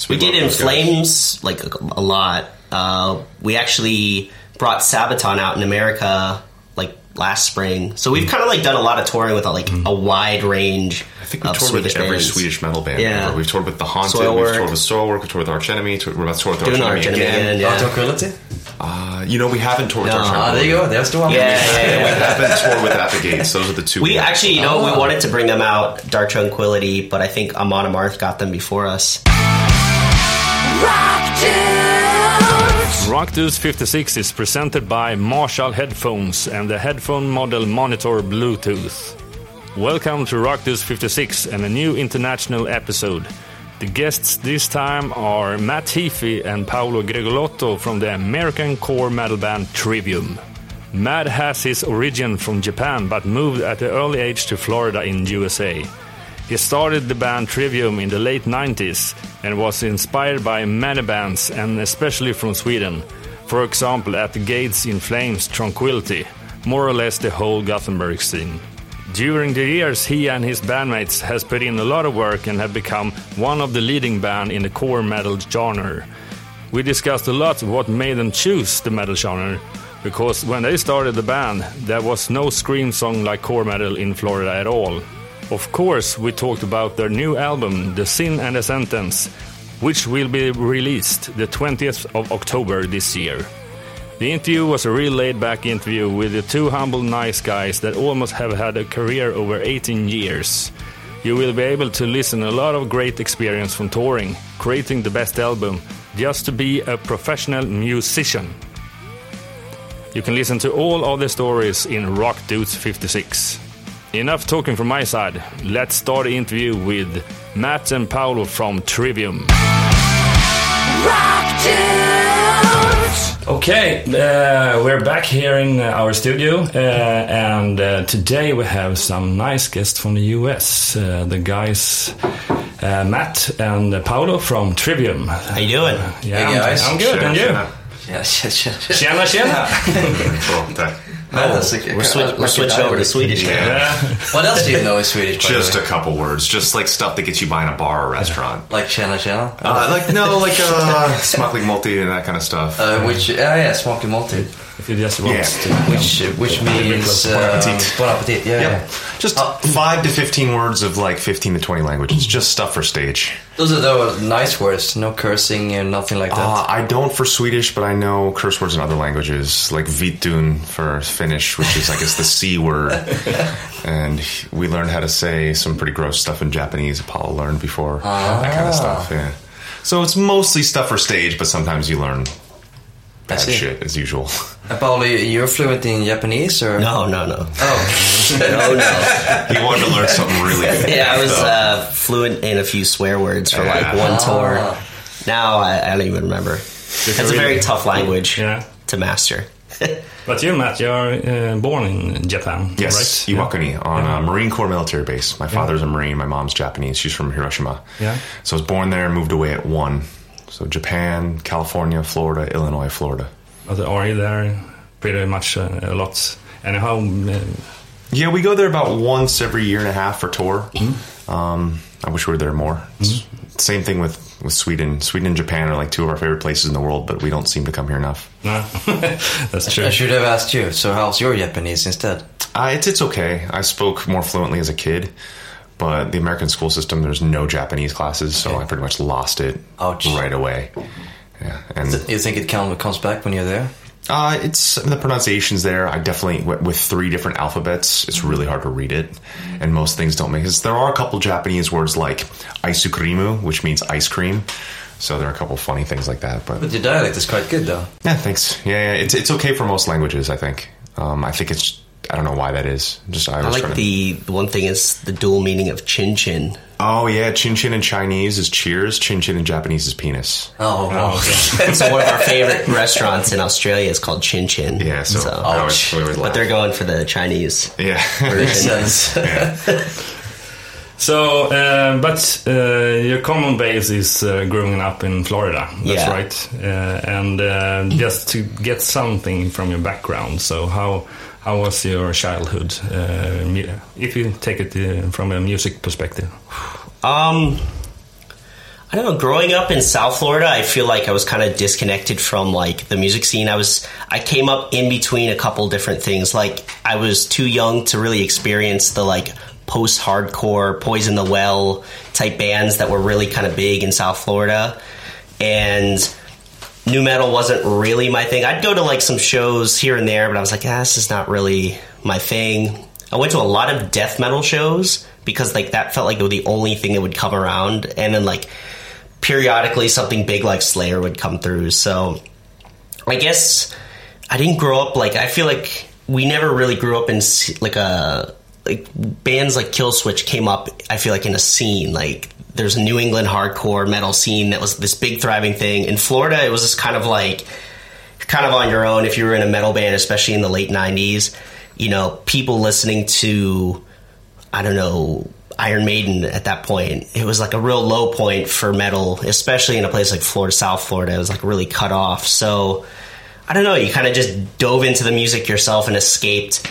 We did In Flames like a lot. We actually brought Sabaton out in America like last spring. So we've kind of like done a lot of touring with a wide range. I think we've toured with every Swedish metal band. Yeah. Ever. We've toured with The Haunted, Soilwork. we've toured with Soilwork, we've toured with Arch Enemy, we're about to tour with Arch Enemy again. Yeah. Tranquility? We haven't toured with Arch Enemy. There you go, there's the one. Yeah. We haven't toured with At the Gates. Those are the two. We actually, we wanted to bring them out, Dark Tranquility, but I think Amon Amarth got them before us. Rockdudes 56 is presented by Marshall Headphones and the headphone model Monitor Bluetooth. Welcome to Rockdudes 56 and a new international episode. The guests this time are Matt Heafy and Paolo Gregolotto from the American core metal band Trivium. Matt has his origin from Japan but moved at an early age to Florida in USA. He started the band Trivium in the late 90s and was inspired by many bands and especially from Sweden. For example, At the Gates, In Flames, Tranquility, more or less the whole Gothenburg scene. During the years, he and his bandmates has put in a lot of work and have become one of the leading band in the core metal genre. We discussed a lot what made them choose the metal genre, because when they started the band, there was no scream song like core metal in Florida at all. Of course, we talked about their new album, The Sin and the Sentence, which will be released the 20th of October this year. The interview was a real laid-back interview with the two humble nice guys that almost have had a career over 18 years. You will be able to listen a lot of great experience from touring, creating the best album, just to be a professional musician. You can listen to all of the stories in Rock Dudes 56. Enough talking from my side. Let's start the interview with Matt and Paolo from Trivium. Okay, we're back here in our studio, and today we have some nice guests from the US. The guys, Matt and Paolo from Trivium. How you doing? Yeah, Hey guys. I'm good, and you? Tjena. Tjena. We're switching over to Swedish now. What else do you know in Swedish? Just a couple words, just like stuff that gets you by in a bar or restaurant. Like tjena. Smaklig multi and that kind of stuff. Smaklig multi. If you just want Which means bon appetit. Yeah. Just 5 to 15 words of like 15 to 20 languages. Just stuff for stage. Those are the nice words. No cursing and nothing like that. I don't for Swedish, but I know curse words in other languages, like vitun for Finnish, which is I guess the C word. And we learned how to say some pretty gross stuff in Japanese. Apollo learned before that kind of stuff. Yeah. So it's mostly stuff for stage, but sometimes you learn bad shit as usual. Paolo, you're fluent in Japanese, or No. Oh, No. He wanted to learn something really. Yeah, I was fluent in a few swear words for like one tour. Now I don't even remember. It's a very tough language to master. But you, Matt, you're born in Japan, Yes, right? Iwakuni, on a Marine Corps military base. My father's a Marine, my mom's Japanese. She's from Hiroshima. Yeah. So I was born there and moved away at 1. So Japan, California, Florida, Illinois, Florida. But are you there pretty much a lot? And how... Yeah, we go there about once every year and a half for tour. I wish we were there more. Same thing with Sweden. Sweden and Japan are like two of our favorite places in the world, but we don't seem to come here enough. No, that's true. I should have asked you. So how's your Japanese instead? It's okay. I spoke more fluently as a kid, but the American school system, there's no Japanese classes, so I pretty much lost it right away. Yeah, and you think it comes back when you're there? It's the pronunciation's there. I definitely, with 3 different alphabets, it's really hard to read it, and most things don't make sense. There are a couple Japanese words like aisukrimu, which means ice cream. So there are a couple funny things like that. But your dialect is quite good, though. Yeah, thanks. Yeah, it's okay for most languages, I think. I think it's, I don't know why that is. I like the one thing is the dual meaning of chin chin. Oh yeah, chin chin in Chinese is cheers. Chin chin in Japanese is penis. Oh, okay. So one of our favorite restaurants in Australia is called Chin Chin. Yeah, but they're going for the Chinese. Yeah, version. Yeah. So, but your common base is growing up in Florida. That's right. And just to get something from your background. So how was your childhood, if you take it from a music perspective? I I don't know. Growing up in South Florida, I feel like I was kind of disconnected from like the music scene. I came up in between a couple different things. Like I was too young to really experience the like post-hardcore, Poison the Well type bands that were really kind of big in South Florida, and nu metal wasn't really my thing. I'd go to like some shows here and there, but I was like, this is not really my thing. I went to a lot of death metal shows because like that felt like the only thing that would come around, and then like periodically something big like Slayer would come through. So I guess I didn't grow up like, I feel like we never really grew up in like bands like Killswitch came up, I feel like, in a scene. Like there's a New England hardcore metal scene that was this big thriving thing. In Florida, it was just kind of like kind of on your own if you were in a metal band, especially in the late 90s. You know, people listening to, I don't know, Iron Maiden at that point. It was like a real low point for metal, especially in a place like Florida, South Florida. It was like really cut off. So I don't know, you kind of just dove into the music yourself and escaped.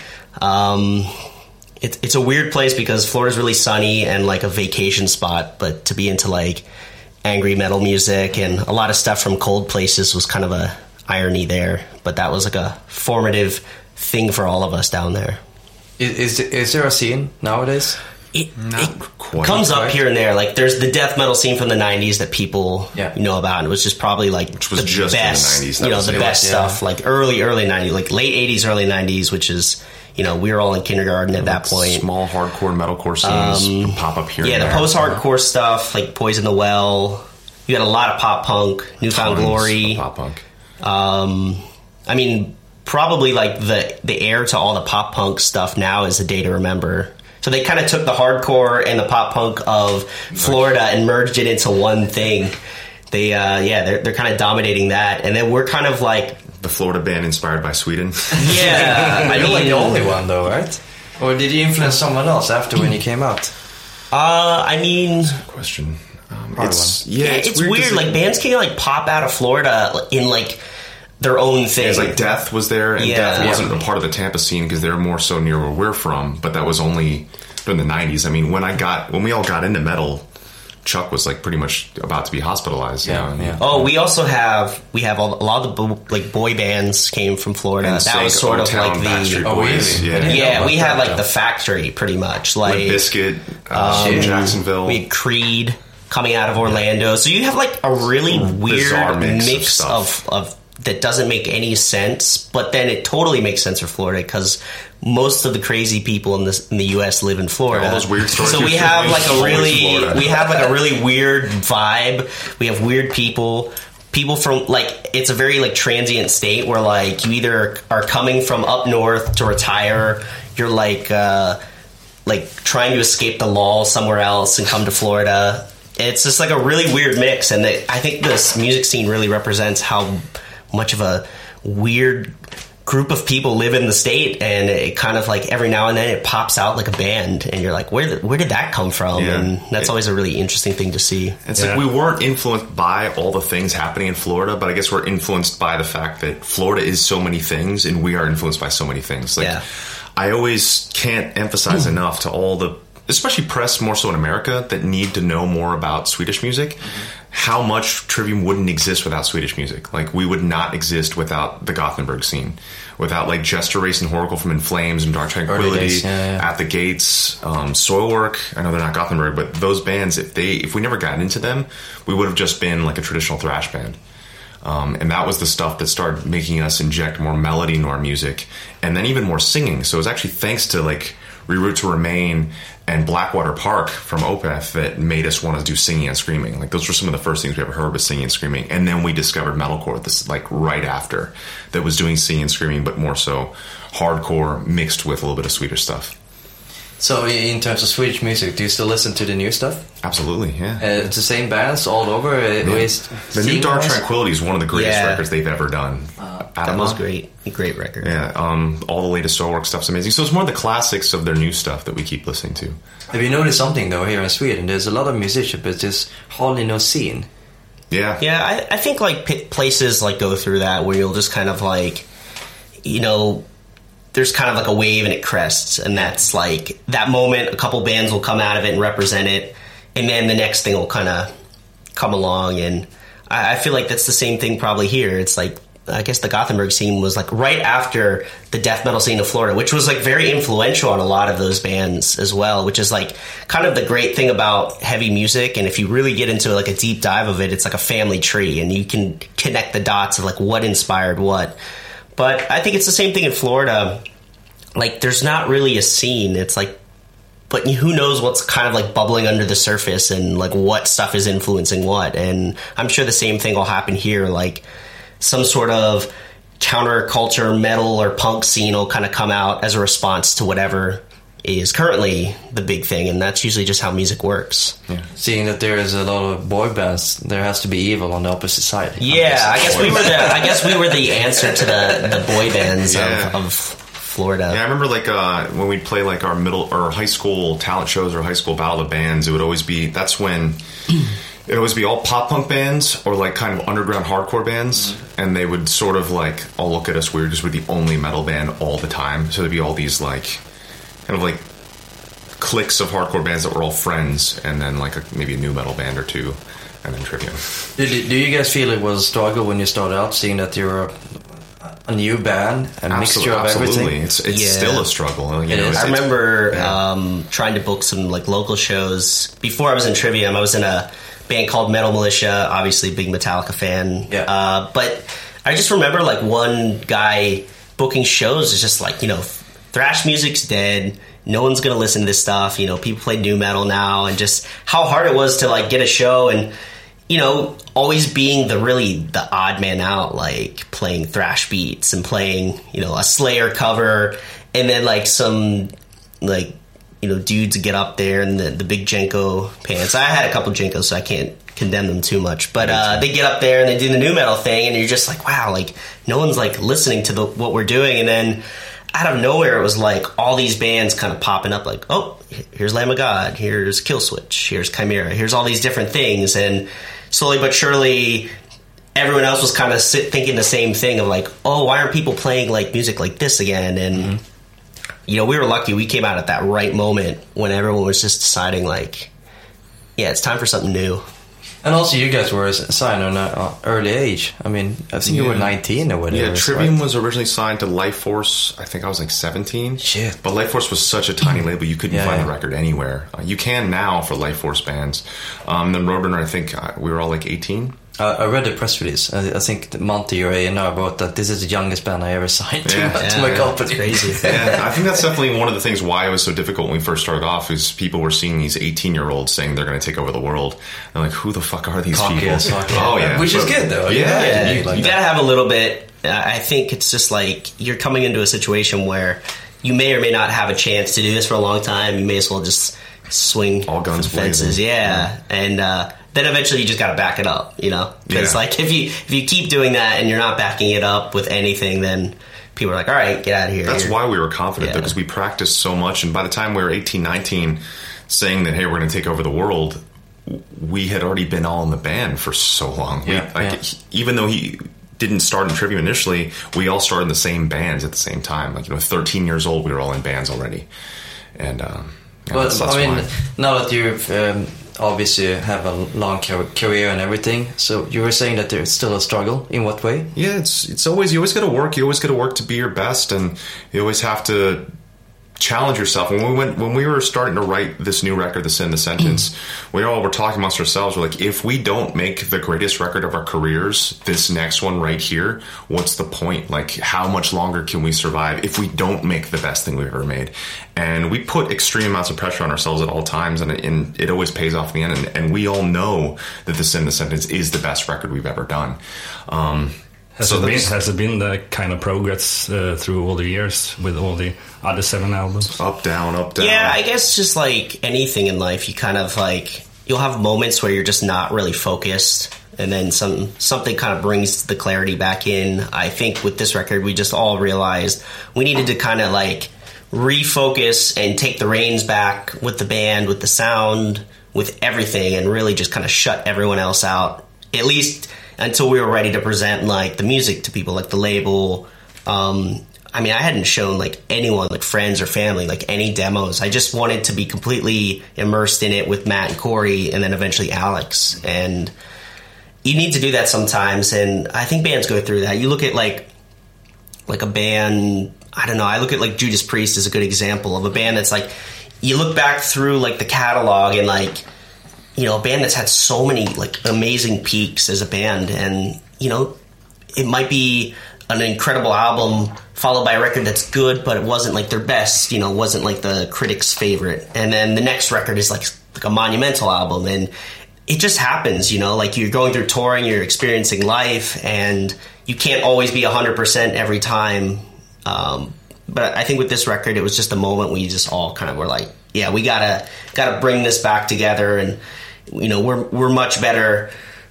It's a weird place because Florida's really sunny and like a vacation spot, but to be into like angry metal music and a lot of stuff from cold places was kind of a irony there. But that was like a formative thing for all of us down there. Is there a scene nowadays? It comes up here and there. Like there's the death metal scene from the 90s that people know about, and it was just probably like which was the just best, in the 90s. You know, the best stuff, like early 90s, like late 80s, early 90s, which is, you know, we were all in kindergarten at that point. Small hardcore metalcore scenes pop up here. Yeah, and the there. post-hardcore stuff, like Poison the Well. You got a lot of pop punk, Newfound Glory. Pop punk. I mean, probably like the heir to all the pop punk stuff now is A Day to Remember. So they kind of took the hardcore and the pop punk of Florida and merged it into one thing. They're kind of dominating that, and then we're kind of like the Florida band inspired by Sweden. Yeah, You're like the only one though, right? Or did you influence someone else after when you came out? I mean, question. It's weird. Like bands can like pop out of Florida in like their own thing. It's like Death was there, and Death wasn't a part of the Tampa scene because they're more so near where we're from. But that was only in the 90s. I mean, when we all got into metal, Chuck was like pretty much about to be hospitalized. Yeah. Oh, we also have a lot of the like boy bands came from Florida. And that was sort of like the Backstreet Boys. Yeah, we had like the Factory pretty much, like Limp Bizkit, Jacksonville. We had Creed coming out of Orlando. So you have like a really weird mix of that doesn't make any sense, but then it totally makes sense for Florida because most of the crazy people in the U.S. live in Florida. All those weird stories. So we have like a really weird vibe. We have weird people from like, it's a very like transient state where like you either are coming from up north to retire, you're like trying to escape the law somewhere else and come to Florida. It's just like a really weird mix, and I think this music scene really represents how much of a weird group of people live in the state, and it kind of like every now and then it pops out like a band, and you're like, where did that come from? Yeah. And that's always a really interesting thing to see. It's like we weren't influenced by all the things happening in Florida, but I guess we're influenced by the fact that Florida is so many things, and we are influenced by so many things. Like I always can't emphasize enough to all the, especially press more so in America, that need to know more about Swedish music, how much Trivium wouldn't exist without Swedish music. Like, we would not exist without the Gothenburg scene, without like Jester Race and Horacle from In Flames and Dark Tranquillity, At the Gates, Soilwork. I know they're not Gothenburg, but those bands, if we never got into them, we would have just been like a traditional thrash band. And that was the stuff that started making us inject more melody into our music, and then even more singing. So it was actually thanks to like Reroute to Remain and Blackwater Park from Opeth that made us want to do singing and screaming. Like, those were some of the first things we ever heard, was singing and screaming. And then we discovered metalcore, this like right after, that was doing singing and screaming, but more so hardcore mixed with a little bit of Swedish stuff. So in terms of Swedish music, do you still listen to the new stuff? Absolutely, yeah. It's the same bands all over? The new Dark Tranquillity is one of the greatest records they've ever done. That was great record. Yeah, all the latest Soilwork stuff's amazing. So it's more the classics of their new stuff that we keep listening to. Have you noticed something though here in Sweden? There's a lot of musicians, but there's hardly no scene. Yeah. Yeah, I think like places like go through that where you'll just kind of like, you know, there's kind of like a wave and it crests, and that's like that moment. A couple bands will come out of it and represent it, and then the next thing will kind of come along, and I feel like that's the same thing probably here. It's like, I guess the Gothenburg scene was like right after the death metal scene of Florida, which was like very influential on a lot of those bands as well, which is like kind of the great thing about heavy music. And if you really get into like a deep dive of it, it's like a family tree, and you can connect the dots of like what inspired what. But I think it's the same thing in Florida. Like, there's not really a scene. It's like, but who knows what's kind of like bubbling under the surface and like what stuff is influencing what. And I'm sure the same thing will happen here. Like, some sort of counterculture metal or punk scene will kind of come out as a response to whatever is currently the big thing, and that's usually just how music works. Yeah. Seeing that there is a lot of boy bands, there has to be evil on the opposite side. Yeah, I guess we were the answer to the boy bands of Florida. Yeah, I remember like when we'd play like our middle or high school talent shows or high school battle of bands, it would always be, that's when it would always be all pop punk bands or like kind of underground hardcore bands, and they would sort of like all look at us weird because we're the only metal band all the time. So there'd be all these like kind of like cliques of hardcore bands that were all friends, and then like maybe a new metal band or two, and then Trivium. Do you guys feel it was a struggle when you started out, seeing that you're a new band, a mixture of everything? It's still a struggle. You know, I remember trying to book some like local shows before I was in Trivium. I was in a band called Metal Militia, obviously big Metallica fan. Yeah. But I just remember like one guy booking shows is just like, you know, thrash music's dead. No one's going to listen to this stuff. You know, people play new metal now, and just how hard it was to like get a show, and, you know, always being the odd man out, like playing thrash beats and playing, you know, a Slayer cover, and then like some like, you know, dudes get up there in the big Jenko pants. I had a couple Jenkos, so I can't condemn them too much. But they get up there and they do the new metal thing, and you're just like, wow, like no one's like listening to what we're doing. And then out of nowhere, it was like all these bands kind of popping up, like, oh, here's Lamb of God, here's Killswitch, here's Chimera, here's all these different things. And slowly but surely, everyone else was kind of thinking the same thing of like, oh, why aren't people playing like music like this again? And you know, we were lucky. We came out at that right moment when everyone was just deciding, like, yeah, it's time for something new. And also, you guys were signed on an early age. I mean, I think you were 19 or whatever. Yeah, Trivium was originally signed to Life Force. I think I was like 17. Shit. But Life Force was such a tiny label, you couldn't find the record anywhere. You can now for Life Force bands. Then Roadrunner, I think we were all like 18. I read the press release. I think Monty, your A&R, wrote that this is the youngest band I ever signed to my company. It's crazy. Yeah, I think that's definitely one of the things why it was so difficult when we first started off, is people were seeing these 18-year-olds saying they're going to take over the world. They're like, who the fuck are these people? Oh, yeah. Which is good, though. Yeah. You got to have a little bit. I think it's just like you're coming into a situation where you may or may not have a chance to do this for a long time. You may as well just swing all guns for the fences. Yeah. And then eventually you just got to back it up, you know? Because like if you keep doing that and you're not backing it up with anything, then people are like, all right, get out of here. That's why we were confident, though, because we practiced so much. And by the time we were 18, 19, saying that, hey, we're going to take over the world, we had already been all in the band for so long. Even though he didn't start in Trivium initially, we all started in the same bands at the same time. Like, you know, 13 years old, we were all in bands already. And but I mean, now that you've obviously have a long career and everything, so you were saying that there's still a struggle. In what way? Yeah, it's always, you always got to work. You always got to work to be your best, and you always have to challenge yourself. When we were starting to write this new record, The Sin, The Sentence, we all were talking amongst ourselves. We're like, if we don't make the greatest record of our careers, this next one right here, what's the point? Like, how much longer can we survive if we don't make the best thing we've ever made? And we put extreme amounts of pressure on ourselves at all times, and it always pays off in the end. And we all know that The Sin, The Sentence is the best record we've ever done. Has it been that kind of progress through all the years with all the other 7 albums? Up, down, up, down. Yeah, I guess just like anything in life, you kind of like, you'll have moments where you're just not really focused, and then something kind of brings the clarity back in. I think with this record, we just all realized we needed to kind of like refocus and take the reins back with the band, with the sound, with everything, and really just kind of shut everyone else out, at least until we were ready to present like the music to people, like the label. I mean, I hadn't shown like anyone, like friends or family, like any demos. I just wanted to be completely immersed in it with Matt and Corey, and then eventually Alex. And you need to do that sometimes, and I think bands go through that. You look at like a band, I don't know, I look at like Judas Priest as a good example of a band that's like, you look back through like the catalog and like, you know, a band that's had so many like amazing peaks as a band, and you know, it might be an incredible album followed by a record that's good, but it wasn't like their best, you know, wasn't like the critics' favorite. And then the next record is like a monumental album, and it just happens, you know, like you're going through touring, you're experiencing life, and you can't always be 100% every time. But I think with this record, it was just a moment we just all kind of were like, yeah, we gotta bring this back together, and you know, we're much better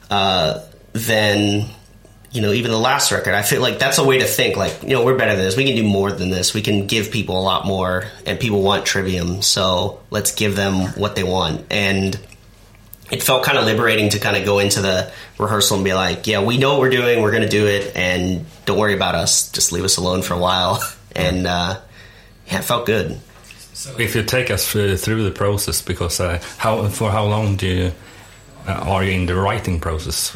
than, you know, even the last record. I feel like that's a way to think, like, you know, we're better than this. We can do more than this. We can give people a lot more, and people want Trivium, so let's give them what they want. And it felt kind of liberating to kind of go into the rehearsal and be like, yeah, we know what we're doing. We're going to do it, and don't worry about us. Just leave us alone for a while. And yeah, it felt good. So if you take us through the process, because for how long are you in the writing process?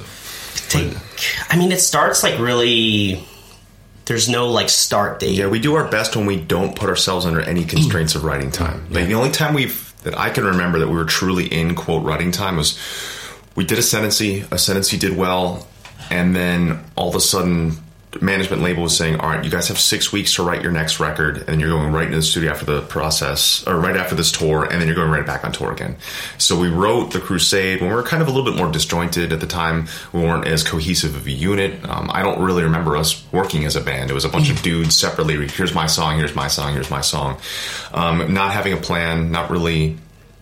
I mean, it starts like really, there's no like start date. Yeah, we do our best when we don't put ourselves under any constraints of writing time. Like the only time that I can remember that we were truly in quote writing time was we did a Ascendancy did well, and then all of a sudden management label was saying, all right, you guys have 6 weeks to write your next record, and you're going right into the studio after the process, or right after this tour, and then you're going right back on tour again. So we wrote The Crusade when we were kind of a little bit more disjointed at the time. We weren't as cohesive of a unit. I don't really remember us working as a band. It was a bunch of dudes separately. Here's my song, here's my song, here's my song. Not having a plan, not really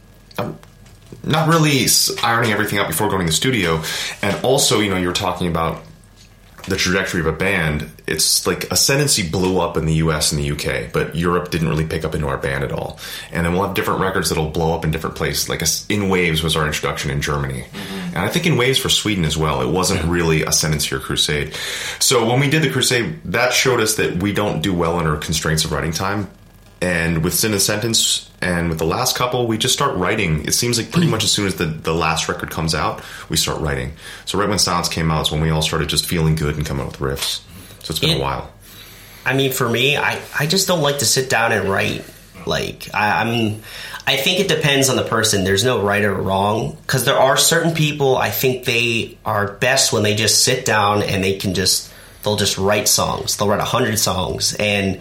ironing everything out before going to the studio. And also, you know, you're talking about the trajectory of a band. It's like Ascendancy blew up in the US and the UK, but Europe didn't really pick up into our band at all. And then we'll have different records that'll blow up in different places. Like In Waves was our introduction in Germany. Mm-hmm. And I think In Waves for Sweden as well. It wasn't really Ascendancy or Crusade. So when we did the Crusade, that showed us that we don't do well under constraints of writing time. And with Sin and Sentence and with the last couple, we just start writing. It seems like pretty much as soon as the last record comes out, we start writing. So right when Silence came out is when we all started just feeling good and coming up with riffs. So it's been a while. I mean, for me, I just don't like to sit down and write. Like, I think it depends on the person. There's no right or wrong, because there are certain people, I think they are best when they just sit down and they'll just write songs. They'll write 100 songs, and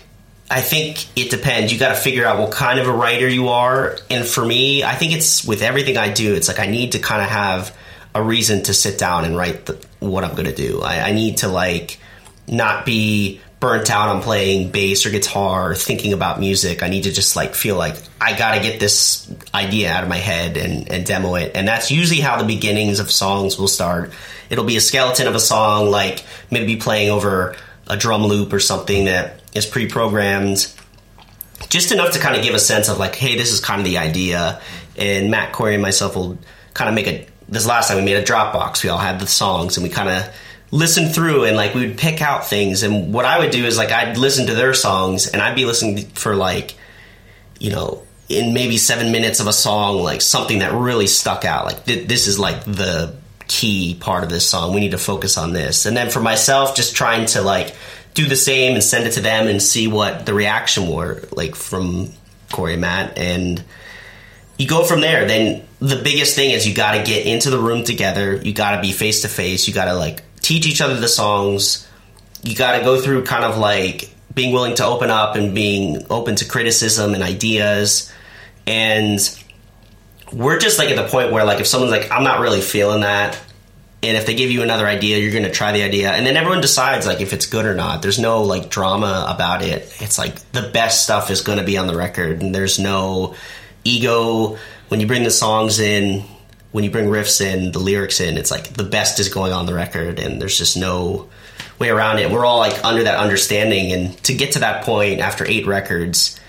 I think it depends. You got to figure out what kind of a writer you are. And for me, I think it's with everything I do, it's like I need to kind of have a reason to sit down and write what I'm going to do. I need to like not be burnt out on playing bass or guitar or thinking about music. I need to just like feel like I got to get this idea out of my head and demo it. And that's usually how the beginnings of songs will start. It'll be a skeleton of a song, like maybe playing over a drum loop or something that is pre-programmed, just enough to kind of give a sense of like, hey, this is kind of the idea. And Matt, Corey, and myself will kind of make this last time we made a Dropbox. We all had the songs and we kind of listened through, and like we would pick out things. And what I would do is like I'd listen to their songs, and I'd be listening for like, you know, in maybe 7 minutes of a song, like something that really stuck out. Like this is like the key part of this song. We need to focus on this. And then for myself, just trying to like do the same and send it to them and see what the reaction were like from Corey and Matt, and you go from there. Then the biggest thing is you got to get into the room together. You got to be face to face. You got to like teach each other the songs. You got to go through kind of like being willing to open up and being open to criticism and ideas. And we're just like at the point where like if someone's like, I'm not really feeling that, and if they give you another idea, you're going to try the idea. And then everyone decides like if it's good or not. There's no like drama about it. It's like the best stuff is going to be on the record. And there's no ego. When you bring the songs in, when you bring riffs in, the lyrics in, it's like the best is going on the record. And there's just no way around it. We're all like under that understanding. And to get to that point after 8 records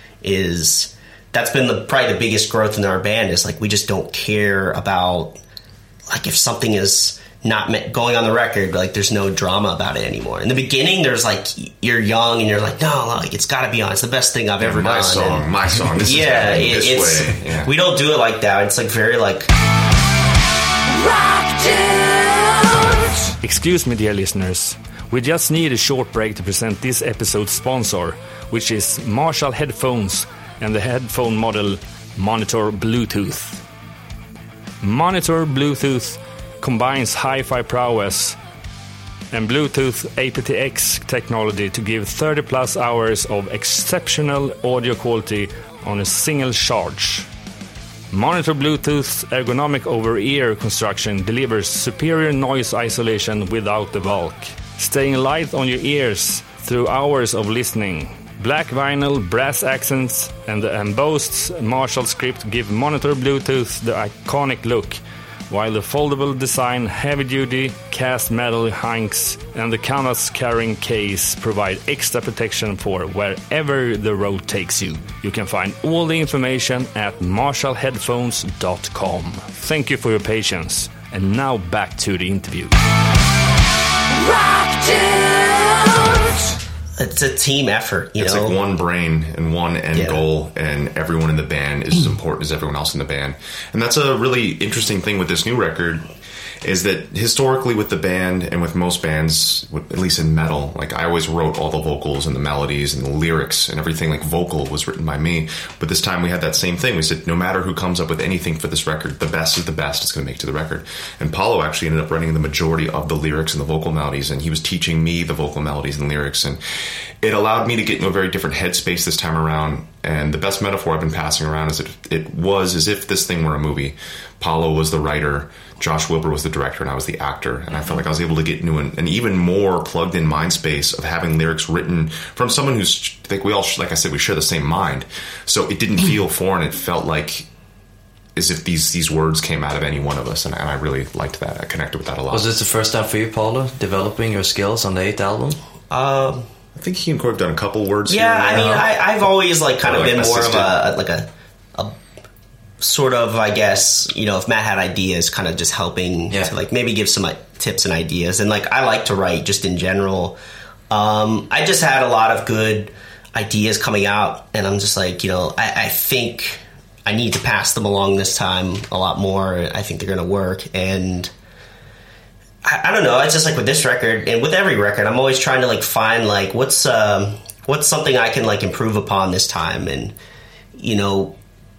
that's been probably the biggest growth in our band, is like we just don't care about like if something is not going on the record, like there's no drama about it anymore. In the beginning, there's like you're young and you're like, no, like it's got to be on. It's the best thing I've ever done. My song. This yeah, is this way. Yeah. We don't do it like that. It's like very like rock dudes. Excuse me, dear listeners. We just need a short break to present this episode's sponsor, which is Marshall headphones and the headphone model Monitor Bluetooth. Monitor Bluetooth combines hi-fi prowess and Bluetooth aptX technology to give 30 plus hours of exceptional audio quality on a single charge. Monitor Bluetooth's ergonomic over-ear construction delivers superior noise isolation without the bulk, staying light on your ears through hours of listening. Black vinyl, brass accents, and the embossed Marshall script give Monitor Bluetooth the iconic look, while the foldable design, heavy-duty cast metal hanks, and the canvas-carrying case provide extra protection for wherever the road takes you. You can find all the information at marshallheadphones.com. Thank you for your patience, and now back to the interview. Rock dudes! It's a team effort, you know? It's like one brain and one end goal, and everyone in the band is as important as everyone else in the band. And that's a really interesting thing with this new record, is that historically with the band and with most bands, at least in metal, like I always wrote all the vocals and the melodies and the lyrics and everything, like vocal was written by me. But this time we had that same thing. We said, no matter who comes up with anything for this record, the best is the best it's going to make to the record. And Paulo actually ended up writing the majority of the lyrics and the vocal melodies, and he was teaching me the vocal melodies and lyrics. And it allowed me to get into a very different headspace this time around. And the best metaphor I've been passing around is that it was as if this thing were a movie. Paulo was the writer, Josh Wilbur was the director, and I was the actor. And I felt like I was able to get into an even more plugged-in mind space of having lyrics written from someone who's, like we all, like I said, we share the same mind. So it didn't feel foreign. It felt like as if these words came out of any one of us, and I really liked that. I connected with that a lot. Was this the first time for you, Paulo, developing your skills on the 8th album? I think he and Corey have done a couple words. Yeah, I mean, I've always like kind of been more of a sort of, I guess, you know, if Matt had ideas, kind of just helping to like maybe give some like tips and ideas. And like I like to write just in general. I just had a lot of good ideas coming out, and I'm just like, you know, I think I need to pass them along this time a lot more. I think they're going to work. And I don't know. It's just like with this record and with every record, I'm always trying to like find like what's something I can like improve upon this time. And, you know,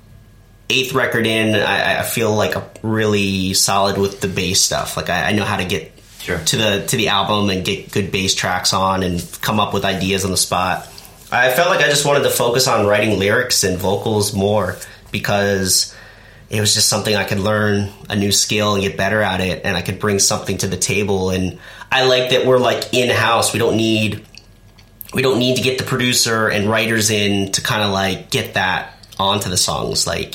8th record in, I feel like I'm really solid with the bass stuff. Like I know how to get to the album and get good bass tracks on and come up with ideas on the spot. I felt like I just wanted to focus on writing lyrics and vocals more, because it was just something I could learn a new skill and get better at it, and I could bring something to the table. And I like that we're like in-house. We don't need to get the producer and writers in to kind of like get that onto the songs. Like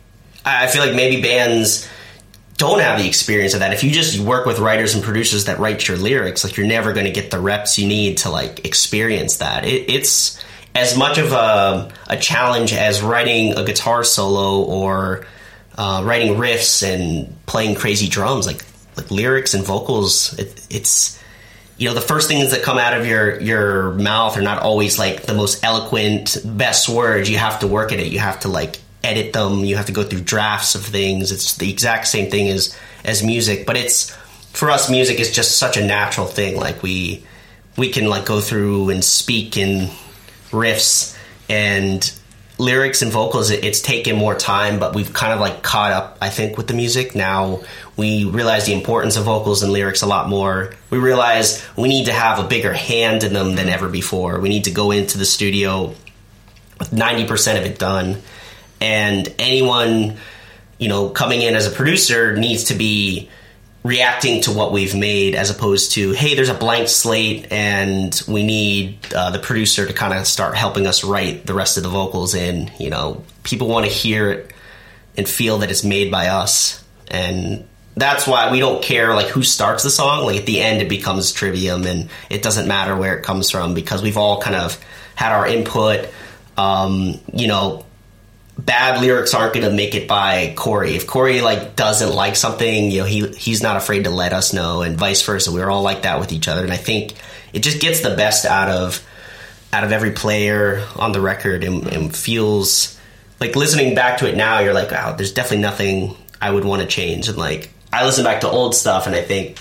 I feel like maybe bands don't have the experience of that. If you just work with writers and producers that write your lyrics, like you're never going to get the reps you need to like experience that. It's as much of a challenge as writing a guitar solo or writing riffs and playing crazy drums. Like lyrics and vocals, it's, you know, the first things that come out of your mouth are not always like the most eloquent, best words. You have to work at it. You have to like edit them. You have to go through drafts of things. It's the exact same thing as music, but it's, for us, music is just such a natural thing. Like we can like go through and speak in riffs and lyrics and vocals. It's taken more time, but we've kind of like caught up, I think, with the music. Now we realize the importance of vocals and lyrics a lot more. We realize we need to have a bigger hand in them than ever before. We need to go into the studio with 90% of it done. And anyone, you know, coming in as a producer needs to be reacting to what we've made, as opposed to, hey, there's a blank slate and we need the producer to kind of start helping us write the rest of the vocals in. You know, people want to hear it and feel that it's made by us. And that's why we don't care like who starts the song. Like at the end it becomes trivium and it doesn't matter where it comes from, because we've all kind of had our input. You know, bad lyrics aren't going to make it by Corey. If Corey like doesn't like something, you know, he's not afraid to let us know, and vice versa. We're all like that with each other, and I think it just gets the best out of every player on the record, and feels like, listening back to it now, you're like, wow, there's definitely nothing I would want to change. And like, I listen back to old stuff and I think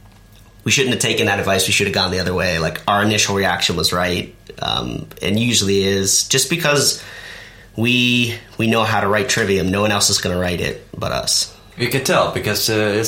we shouldn't have taken that advice. We should have gone the other way. Like, our initial reaction was right, and usually is, just because we know how to write Trivium. No one else is going to write it but us. You can tell because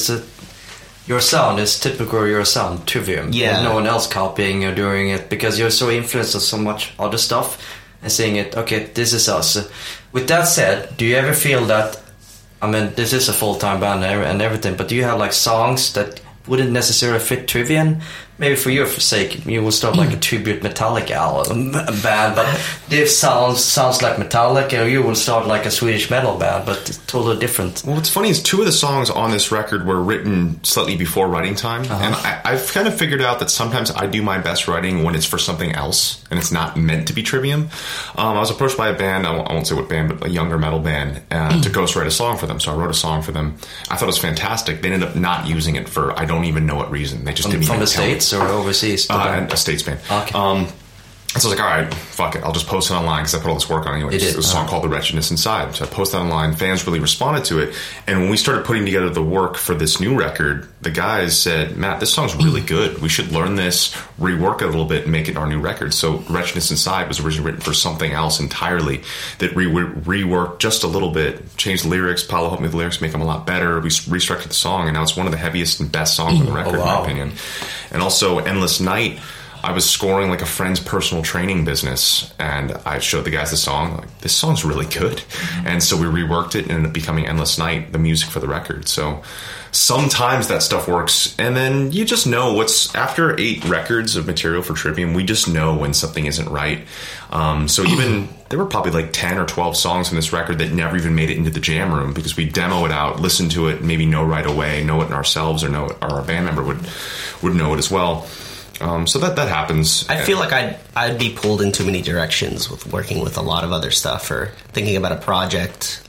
your sound is typical your sound, Trivium. Yeah. There's no one else copying or doing it because you're so influenced by so much other stuff and saying it, okay, this is us. With that said, do you ever feel that, I mean, this is a full-time band and everything, but do you have like songs that wouldn't necessarily fit Trivium? Maybe for your sake, you will start like a tribute Metallica album band, but this sounds like Metallica, or you will start like a Swedish metal band, but it's totally different. Well, what's funny is 2 of the songs on this record were written slightly before writing time, and I've kind of figured out that sometimes I do my best writing when it's for something else, and it's not meant to be Trivium. I was approached by a band, I won't say what band, but a younger metal band, to ghostwrite a song for them, so I wrote a song for them. I thought it was fantastic. They ended up not using it for I don't even know what reason. They just didn't even tell me. From the States or overseas? A States band. Okay. So I was like, all right, fuck it. I'll just post it online because I put all this work on anyway. It was a song called The Wretchedness Inside. So I posted it online. Fans really responded to it. And when we started putting together the work for this new record, the guys said, Matt, this song's really good. We should learn this, rework it a little bit, and make it our new record. So Wretchedness Inside was originally written for something else entirely that reworked just a little bit, changed the lyrics. Paolo helped me with the lyrics, make them a lot better. We restructured the song, and now it's one of the heaviest and best songs on the record, in my opinion. And also Endless Night, I was scoring like a friend's personal training business, and I showed the guys the song. Like, this song's really good. And so we reworked it and ended up becoming Endless Night, the music for the record. So sometimes that stuff works, and then you just know after 8 records of material for Trivium, we just know when something isn't right. So even there were probably like 10 or 12 songs on this record that never even made it into the jam room because we demo it out, listen to it, maybe know right away, know it ourselves, or our band member would know it as well. So that happens. I feel like I'd be pulled in too many directions with working with a lot of other stuff or thinking about a project.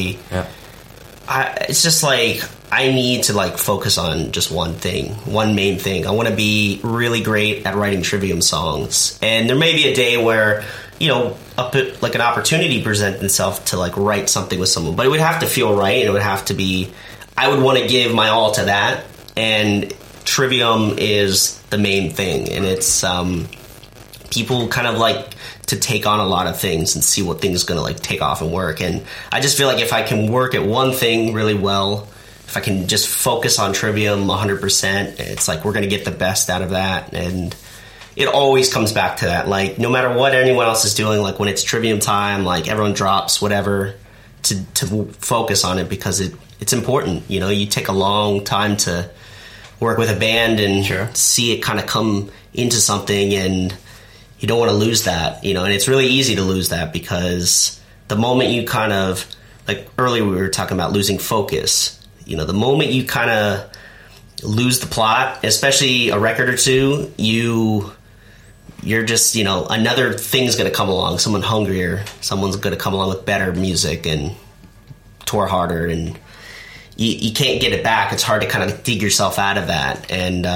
It's just like I need to like focus on just one main thing. I want to be really great at writing Trivium songs, and there may be a day where, you know, like an opportunity presents itself to like write something with someone, but it would have to feel right, and it would have to be. I would want to give my all to that, and Trivium is the main thing, and it's people kind of like to take on a lot of things and see what things going to like take off and work. And I just feel like if I can work at one thing really well, if I can just focus on Trivium 100%, it's like we're going to get the best out of that. And it always comes back to that. Like, no matter what anyone else is doing, like when it's Trivium time, like everyone drops whatever to focus on it because it's important. You know, you take a long time to work with a band and see it kind of come into something, and you don't want to lose that, you know. And it's really easy to lose that because the moment you kind of, like earlier we were talking about losing focus, you know, the moment you kind of lose the plot, especially a record or two, you're just, you know, another thing's going to come along, someone hungrier, someone's going to come along with better music and tour harder, and you can't get it back. It's hard to kind of dig yourself out of that. And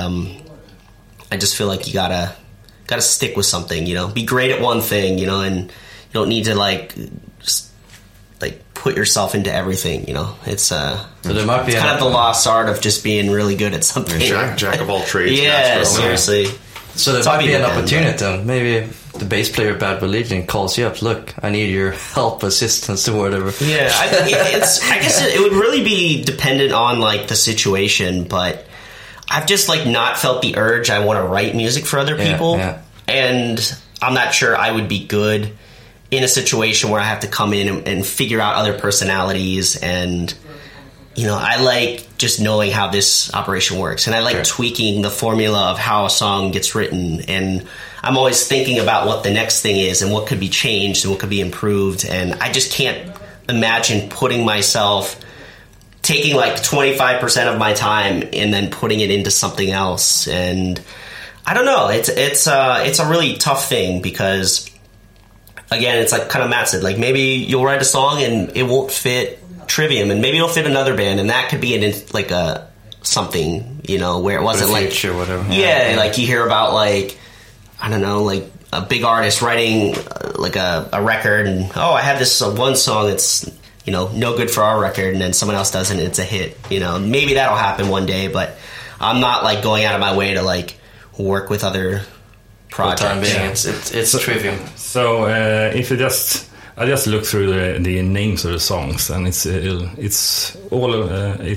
I just feel like you gotta stick with something, you know, be great at one thing, you know, and you don't need to like just like put yourself into everything, you know. It's so there might be kind of the lost art of just being really good at something. Jack of all trades. Yeah, seriously. So there might be an opportunity then. Maybe the bass player of Bad Religion calls you up. Look, I need your help, assistance, or whatever. Yeah, I guess it would really be dependent on like the situation, but I've just like not felt the urge. I want to write music for other people, and I'm not sure I would be good in a situation where I have to come in and figure out other personalities. And you know, I like just knowing how this operation works, and I like tweaking the formula of how a song gets written, and I'm always thinking about what the next thing is and what could be changed and what could be improved. And I just can't imagine putting myself, taking like 25% of my time and then putting it into something else. And I don't know, it's a really tough thing because again, it's like kind of Matt said, like maybe you'll write a song and it won't fit Trivium, and maybe it'll fit another band, and that could be like a something, you know, where it wasn't like future, whatever. Yeah, like you hear about like, I don't know, like a big artist writing like a record, and I have this one song that's, you know, no good for our record, and then someone else does it and it's a hit. You know, maybe that'll happen one day, but I'm not like going out of my way to like work with other projects. For the time being, it's Trivium. So if you I just look through the names of the songs, and it's all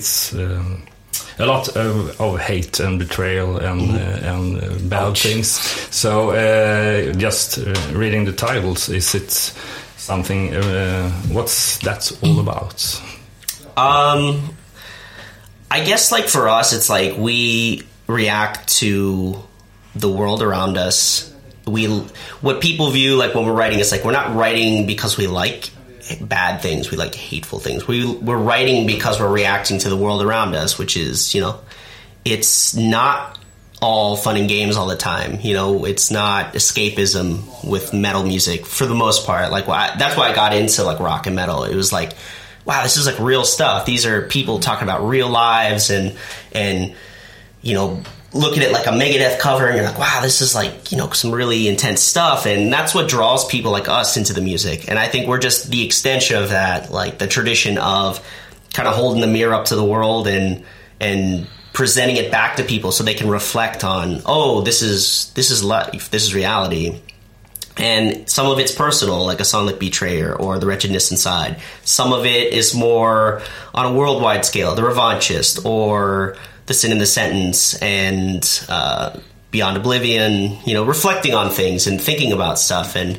a lot of hate and betrayal and bad things. So just reading the titles, is it something? What's that all about? I guess like for us, it's like we react to the world around us. What people view like when we're writing is like we're not writing because we like bad things, we like hateful things. We're writing because we're reacting to the world around us, which is, you know, it's not all fun and games all the time. You know, it's not escapism with metal music for the most part. Like that's why I got into like rock and metal. It was like, wow, this is like real stuff. These are people talking about real lives and you know, look at it like a Megadeth cover and you're like, wow, this is like, you know, some really intense stuff. And that's what draws people like us into the music. And I think we're just the extension of that, like the tradition of kind of holding the mirror up to the world and presenting it back to people so they can reflect on, this is life, this is reality. And some of it's personal, like a song like Betrayer or The Wretchedness Inside. Some of it is more on a worldwide scale, The Revanchist or The Sin in the Sentence and Beyond Oblivion, you know, reflecting on things and thinking about stuff. And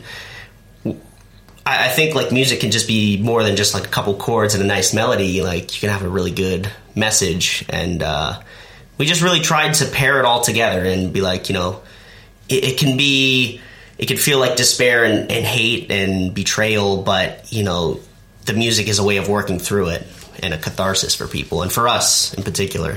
I think like music can just be more than just like a couple chords and a nice melody. Like you can have a really good message. And we just really tried to pair it all together and be like, you know, it can feel like despair and hate and betrayal, but, you know, the music is a way of working through it and a catharsis for people, and for us in particular.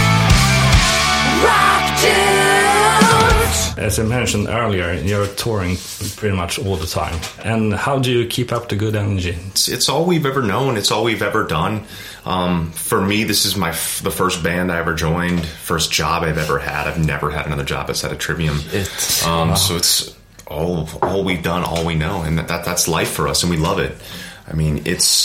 As I mentioned earlier, you're touring pretty much all the time. And how do you keep up the good energy? It's all we've ever known. It's all we've ever done. For me, this is the first band I ever joined, first job I've ever had. I've never had another job outside of Trivium. So it's all we've done, all we know, and that's life for us, and we love it. I mean,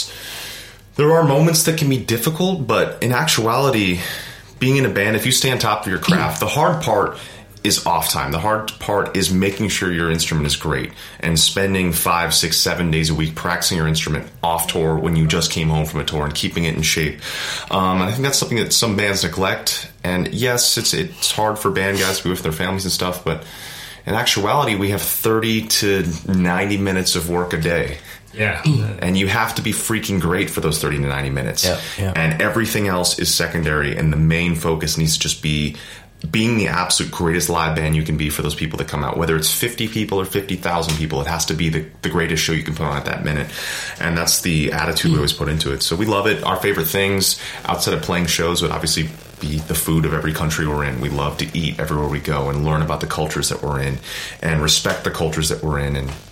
there are moments that can be difficult, but in actuality, being in a band, if you stay on top of your craft, the hard part is off time. The hard part is making sure your instrument is great and spending 5, 6, 7 days a week practicing your instrument off tour when you just came home from a tour and keeping it in shape. And I think that's something that some bands neglect. And yes, it's hard for band guys to be with their families and stuff, but in actuality, we have 30 to 90 minutes of work a day. Yeah. And you have to be freaking great for those 30 to 90 minutes. Yeah. And everything else is secondary, and the main focus needs to just be being the absolute greatest live band you can be for those people that come out. Whether it's 50 people or 50,000 people, it has to be the greatest show you can put on at that minute. And that's the attitude we always put into it. So we love it. Our favorite things outside of playing shows would obviously be the food of every country we're in. We love to eat everywhere we go and learn about the cultures that we're in and respect the cultures that we're in. And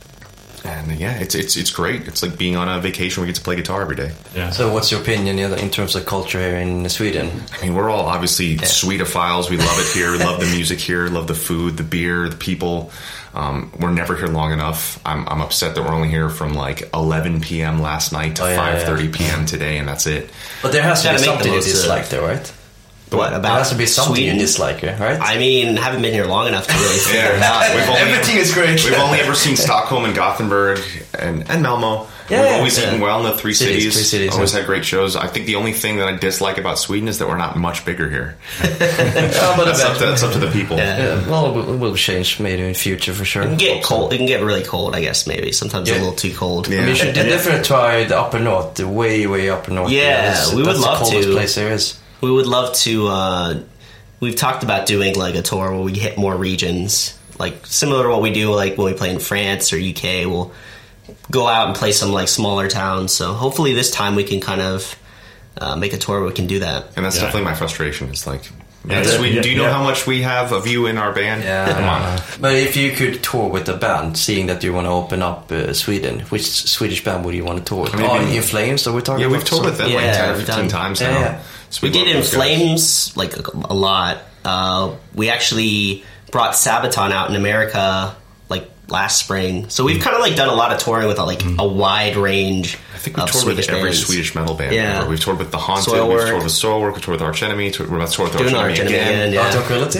yeah, it's great. It's like being on a vacation where we get to play guitar every day. Yeah. So what's your opinion in terms of culture here in Sweden? I mean, we're all obviously Swedophiles. We love it here. We love the music here. Love the food, the beer, the people. We're never here long enough. I'm upset that we're only here from like 11 p.m. last night to 5:30 p.m. today, and that's it. But there has to be something you most of dislike there, right? What about There has to be something Sweden? you dislike, right? I mean, haven't been here long enough to really figure it out. Everything is great. We've only ever seen Stockholm and Gothenburg and Malmo. Yeah, we've always eaten well in the three cities. Always had great shows. I think the only thing that I dislike about Sweden is that we're not much bigger here. That's up to the people. Yeah, well, it will change maybe in future for sure. It can get cold. It can get really cold, I guess, maybe. Sometimes a little too cold. Yeah. I mean, you should definitely try the upper north, the way upper north. Yeah, we would love That's the coldest to. place there is. We would love to. We've talked about doing like a tour where we hit more regions, like similar to what we do like when we play in France or UK. We'll go out and play some like smaller towns. So hopefully this time we can kind of make a tour where we can do that. And that's definitely my frustration. It's like Yeah, Sweden. Do you know how much we have of you in our band? Yeah. Come on. But if you could tour with a band, seeing that you want to open up Sweden, which Swedish band would you want to tour with? In Flames, are we talking Yeah, about? we've toured with them like 10 or 15 times now. Yeah. So We did love In those guys. Flames like a lot. We actually brought Sabaton out in America like last spring. So we've kind of like done a lot of touring with a wide range. I think we've of toured Swedish with every bands. Swedish metal band. Yeah. ever. We've toured with The Haunted, Soilwork. we've toured with Soilwork, we've toured with Arch Enemy, we're about to tour with Doing Arch Arch Enemy Enemy again. again, yeah. Tranquility?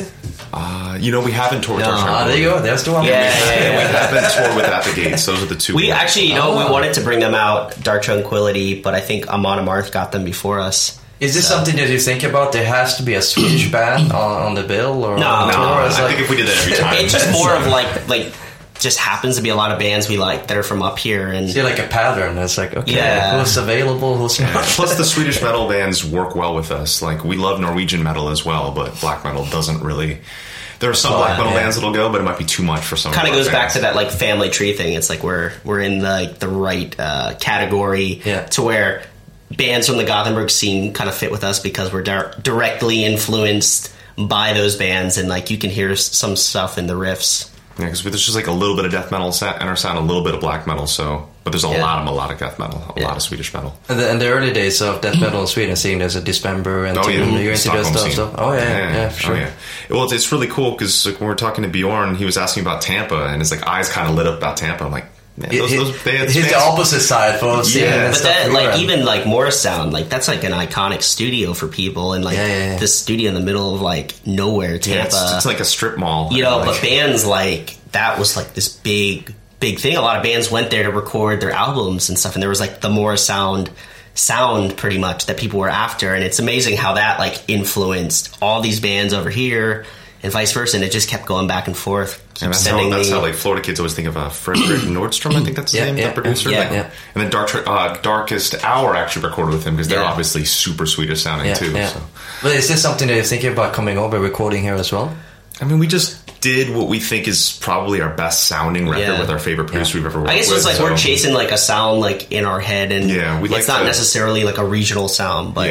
We haven't toured with No. Arch Enemy. There you go. There's the one. Yeah, We haven't toured with At the Gates. Those are the two. We bands. actually, we wanted to bring them out, Dark Tranquility, but I think Amon Amarth got them before us. Is this something that you think about? There has to be a Swedish band on the bill, or No, on the tour? I It's think if we did that every time. It's just more of like just happens to be a lot of bands we like that are from up here, and see like a pattern. It's like, okay, Yeah. who's available, who's not? Plus, the Swedish metal bands work well with us. Like, we love Norwegian metal as well, but black metal doesn't really. There are some black metal bands that'll go, but it might be too much for some. kind of our goes back bands. to that like family tree thing. It's like we're in the right category to where bands from the Gothenburg scene kind of fit with us because we're directly influenced by those bands, and like you can hear some stuff in the riffs. Yeah, because there's just like a little bit of death metal in our sound, a little bit of black metal. So, but there's a lot of melodic death metal, a lot of Swedish metal. And the early days of death metal in Sweden, seeing there's a Dismember and you're into that Stockholm stuff. scene. So, yeah, for sure. Oh, yeah. Well, it's really cool because like, when we were talking to Bjorn, he was asking about Tampa, and his like eyes kind of lit up about Tampa. I'm like, man, those bands. He's the opposite side for seeing and But stuff. that, we like, were. even like Morrisound, like that's like an iconic studio for people, and like this studio in the middle of like nowhere, Tampa. It's like a strip mall. But bands like that was like this big thing. A lot of bands went there to record their albums and stuff, and there was like the Morrisound sound pretty much that people were after, and it's amazing how that like influenced all these bands over here and vice versa, and it just kept going back and forth. And that's how like Florida kids always think of Frederick Nordstrom. I think that's his name, the producer. And then Darkest Hour actually recorded with him because they're obviously super Swedish sounding too. Yeah. So. But is this something that you're thinking about coming over recording here as well? I mean, we just did what we think is probably our best sounding record with our favorite producer we've ever worked with. I guess it's like we're chasing like a sound like in our head, and it's not necessarily like a regional sound, but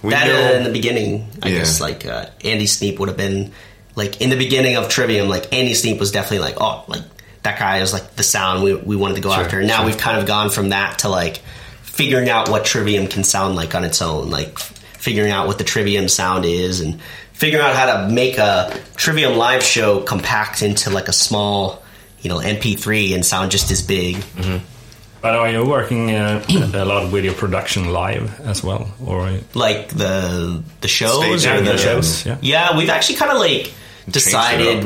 in the beginning, I guess like Andy Sneap would have been like in the beginning of Trivium, like Andy Sneap was definitely like, oh, like that guy is like the sound we wanted to go after. And now we've kind of gone from that to like figuring out what Trivium can sound like on its own, like figuring out what the Trivium sound is and figuring out how to make a Trivium live show compact into like a small, MP3 and sound just as big. Mm-hmm. But are you working a lot with your production live as well, or like the shows or the shows? Yeah, we've actually kind of like decided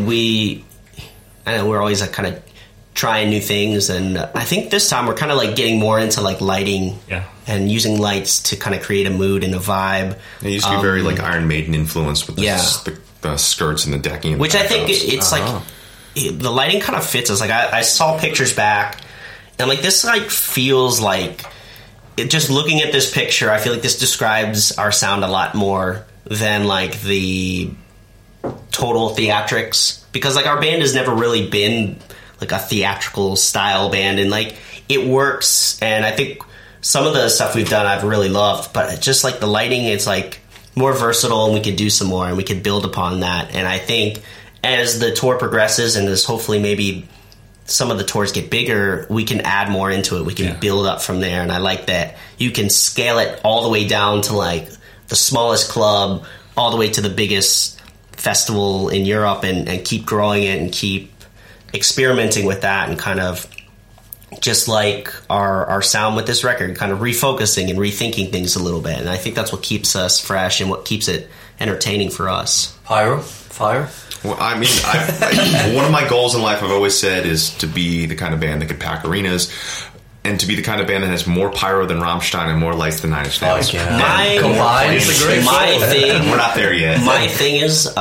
I know we're always like kind of trying new things, and I think this time we're kind of like getting more into like lighting and using lights to kind of create a mood and a vibe. It used to be very like Iron Maiden influenced with the skirts and the decking, which I think it's like the lighting kind of fits us. Like I saw pictures back, and like this like feels like just looking at this picture, I feel like this describes our sound a lot more than like the total theatrics, because like our band has never really been like a theatrical style band, and like it works, and I think some of the stuff we've done I've really loved, but just like the lighting, it's like more versatile, and we could do some more and we could build upon that. And I think as the tour progresses and as hopefully maybe some of the tours get bigger, we can add more into it, we can build up from there. And I like that you can scale it all the way down to like the smallest club all the way to the biggest festival in Europe, and keep growing it and keep experimenting with that, and kind of just like our sound with this record, kind of refocusing and rethinking things a little bit. And I think that's what keeps us fresh and what keeps it entertaining for us. Fire? Well, I mean, one of my goals in life I've always said is to be the kind of band that could pack arenas, and to be the kind of band that has more pyro than Rammstein and more lights than Nine Inch Nails. My thing, we're not there yet. My thing is,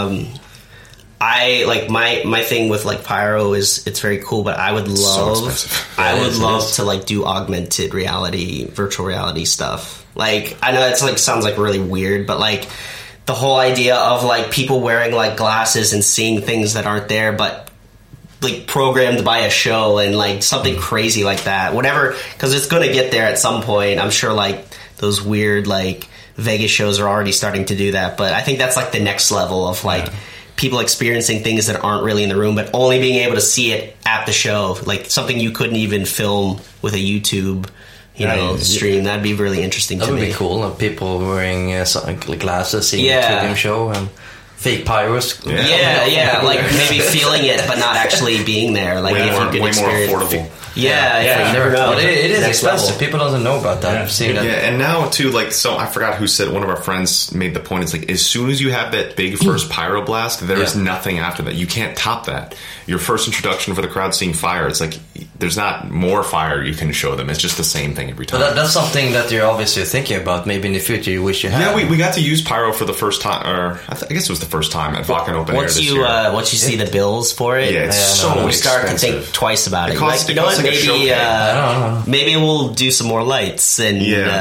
I like my thing with like pyro is it's very cool, but I would love to like do augmented reality, virtual reality stuff. Like I know it's like sounds like really weird, but like the whole idea of like people wearing like glasses and seeing things that aren't there, but like programmed by a show, and like something crazy like that, whatever, because it's going to get there at some point. I'm sure like those weird like Vegas shows are already starting to do that. But I think that's like the next level of like people experiencing things that aren't really in the room, but only being able to see it at the show, like something you couldn't even film with a YouTube, stream. That'd be really interesting to me. That would be cool. People wearing glasses, seeing a Trivium show, and fake pyros. Yeah, like maybe feeling it, but not actually being there. Like if you could experience. Way more affordable. Yeah, you never know. But it is Next expensive. level. People don't know about that. Yeah. I've seen that. Yeah, and now too, like, so I forgot who said, one of our friends made the point, it's like, as soon as you have that big first pyro blast, there is nothing after that. You can't top that. Your first introduction for the crowd seeing fire, it's like, there's not more fire you can show them. It's just the same thing every time. But that's something that you're obviously thinking about. Maybe in the future you wish you had. Yeah, we got to use pyro for the first time, or I guess it was the first time at Wacken Open Air Once this you year. once you see the bills for it, Yeah, it's so you start to expensive. think twice about it. It costs- Like, you it know costs what? like a show Maybe cab. maybe we'll do some more lights and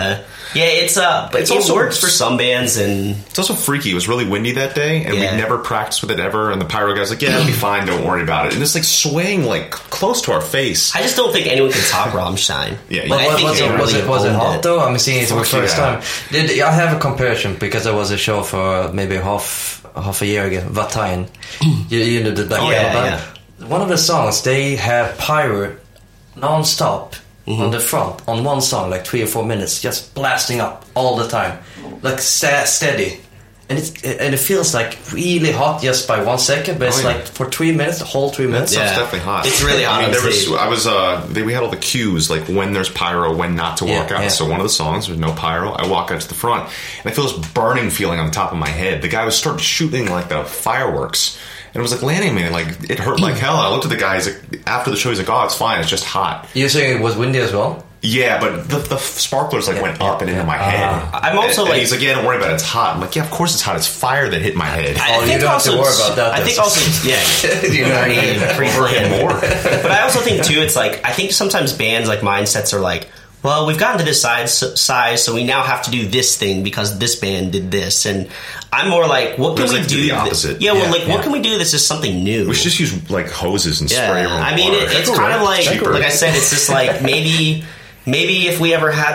it's but It's it also- works for some bands and It's also freaky. It was really windy that day, and Yeah. we never practiced with it ever. And the pyro guy's like, "Yeah, it'll be fine. Don't worry about it." And it's like swaying like close to our face. I just don't think anyone can top Rammstein. Yeah, Like, I think was they it really was it owned hot though? I'm seeing it for the Fuck first yeah. time. I have a comparison because there was a show for maybe half a year ago. Vatain, you know the black metal yeah, band. One of the songs they have pyro non-stop on the front on one song, like 3 or 4 minutes, just blasting up all the time, like steady. And it feels like really hot just by 1 second, but it's yeah. like for 3 minutes, the whole 3 minutes. Stuff's Yeah. definitely hot. It's really hot I mean, on there was. stage. We had all the cues, like when there's pyro, when not to walk out. yeah. So one of the songs, there's no pyro. I walk out to the front, and I feel this burning feeling on the top of my head. The guy was starting shooting like the fireworks, and it was like landing me. Like it hurt like hell. I looked at the guy. He's like, after the show, he's like, "Oh, it's fine. It's just hot." You're saying it was windy as well? Yeah, but the sparklers like went up and into my head. I'm also and like- he's like, "Yeah, don't worry about it. It's hot." I'm like, "Yeah, of course it's hot. It's fire that hit my head." Oh, you don't have to worry about that, I then. think also, You know what I mean? Overhead more. But I also think too, it's like I think sometimes bands like mindsets are like, well, we've gotten to this size, so we now have to do this thing because this band did this, and I'm more like, what can It's we like do? the opposite. Yeah, well, Yeah, like what yeah. can we do? This is something new. We should just use like hoses and spray Yeah, everyone. I mean, with water. it's kind of like, Cheaper. like I said, it's just like maybe if we ever had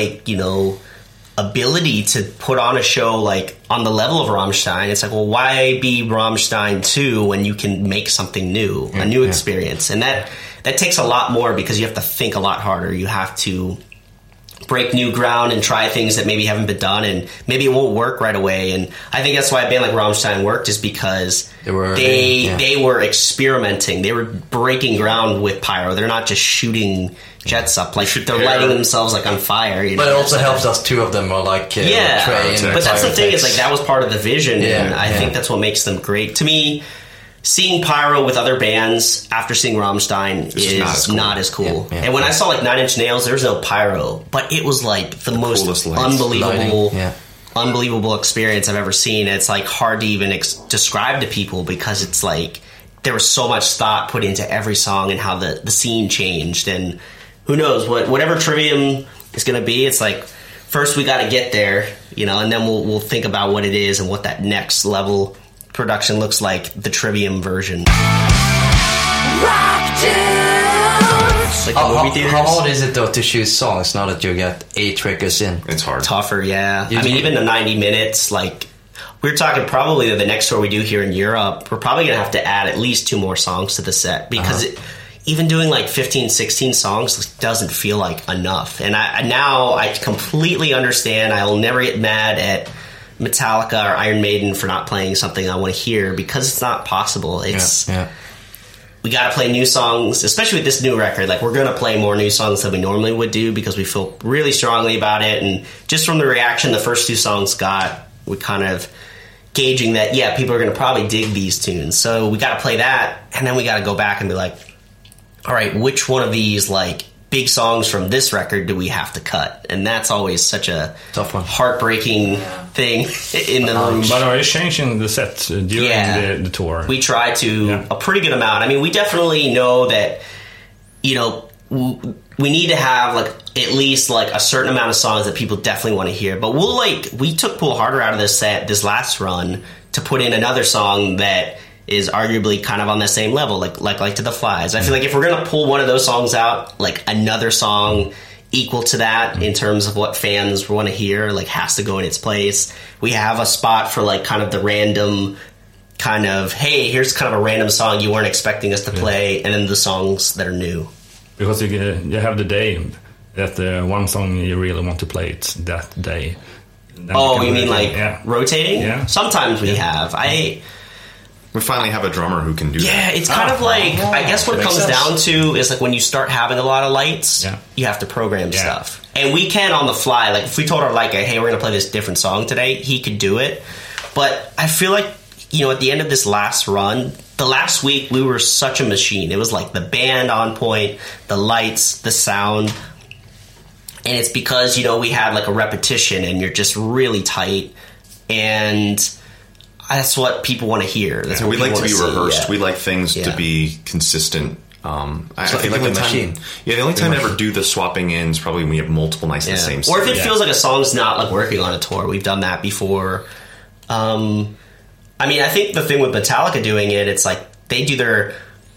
the ability to put on a show like on the level of Rammstein, it's like, well, why be Rammstein 2 when you can make something new, a new experience, and that takes a lot more because you have to think a lot harder. You have to break new ground and try things that maybe haven't been done, and maybe it won't work right away. And I think that's why a band like Rammstein worked, is because they were experimenting. They were breaking ground with pyro. They're not just shooting jets up, like they're lighting themselves like on fire. You know? But it also helps us. Two of them are like Trey and but that's the thing, is Pyrotex. like that was part of the vision, and Yeah, I yeah. think that's what makes them great. To me, seeing pyro with other bands after seeing Rammstein is not as cool. Yeah, yeah. And when I saw like Nine Inch Nails, there was no pyro, but it was like the most coolest lights. unbelievable, Lighting, yeah. unbelievable experience I've ever seen. It's like hard to even describe to people because it's like there was so much thought put into every song and how the scene changed. And who knows whatever Trivium is going to be. It's like first we got to get there, and then we'll think about what it is and what that next level production looks like, the Trivium version. Like the movie theaters. How hard is it though to choose songs now that you get 8 records in? It's hard. Tougher, yeah. You I mean, do- even the 90 minutes, like, we're talking probably the next tour we do here in Europe, we're probably going to have to add at least 2 more songs to the set because even doing like 15, 16 songs doesn't feel like enough. And now I completely understand. I will never get mad at Metallica or Iron Maiden for not playing something I want to hear because it's not possible. It's we got to play new songs, especially with this new record. Like, we're going to play more new songs than we normally would do because we feel really strongly about it. And just from the reaction the first 2 songs got, we kind of gauging that, yeah, people are going to probably dig these tunes. So we got to play that, and then we got to go back and be like, all right, which one of these, like, big songs from this record do we have to cut? And that's always such a Tough one. heartbreaking thing in the room. But are you changing the set during the tour? We try to a pretty good amount. I mean, we definitely know that, we need to have like at least like a certain amount of songs that people definitely want to hear. But we took Pull Harder out of this set, this last run, to put in another song that is arguably kind of on the same level, like To the Flies. I feel like if we're gonna pull one of those songs out, like another song equal to that in terms of what fans want to hear, like has to go in its place. We have a spot for like kind of the random kind of, hey, here's kind of a random song you weren't expecting us to play, and then the songs that are new. Because you have the day that one song you really want to play it that day. Then You mean like rotating? Yeah. Sometimes we have. We finally have a drummer who can do that. Yeah, it's kind of like, I guess what it comes down to is like when you start having a lot of lights, you have to program stuff. And we can on the fly, like if we told our light guy, hey, we're going to play this different song today, he could do it. But I feel like, you know, at the end of this last run, the last week we were such a machine. It was like the band on point, the lights, the sound. And it's because, you know, we had like a repetition and you're just really tight. And that's what people want to hear. That's what we like to be rehearsed. Yeah. We like things to be consistent. I think like the a machine. The only time I ever do the swapping in is probably when we have multiple nights of the same Or if song. it feels like a song's not like working on a tour. We've done that before. I mean, I think the thing with Metallica doing it, it's like they do their...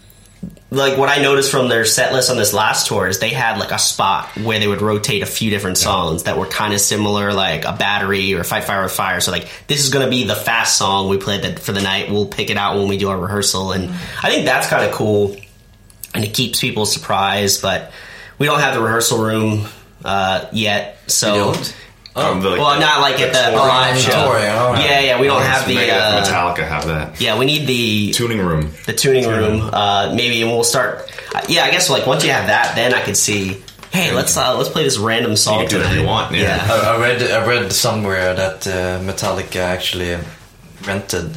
Like, what I noticed from their set list on this last tour is they had, like, a spot where they would rotate a few different songs that were kind of similar, like a Battery or Fight Fire with Fire. So, like, this is going to be the fast song we played for the night. We'll pick it out when we do our rehearsal. And I think that's kind of cool. And it keeps people surprised. But we don't have the rehearsal room yet. So... You don't? Well, not like at the live show. Yeah, we don't have the... Metallica have that. Yeah, we need the... Tuning room. The tuning room. Maybe, and we'll start... I guess, like, once you have that, then I could see... Hey, let's play this random song. You can do whatever you want. Yeah. I read somewhere that Metallica actually rented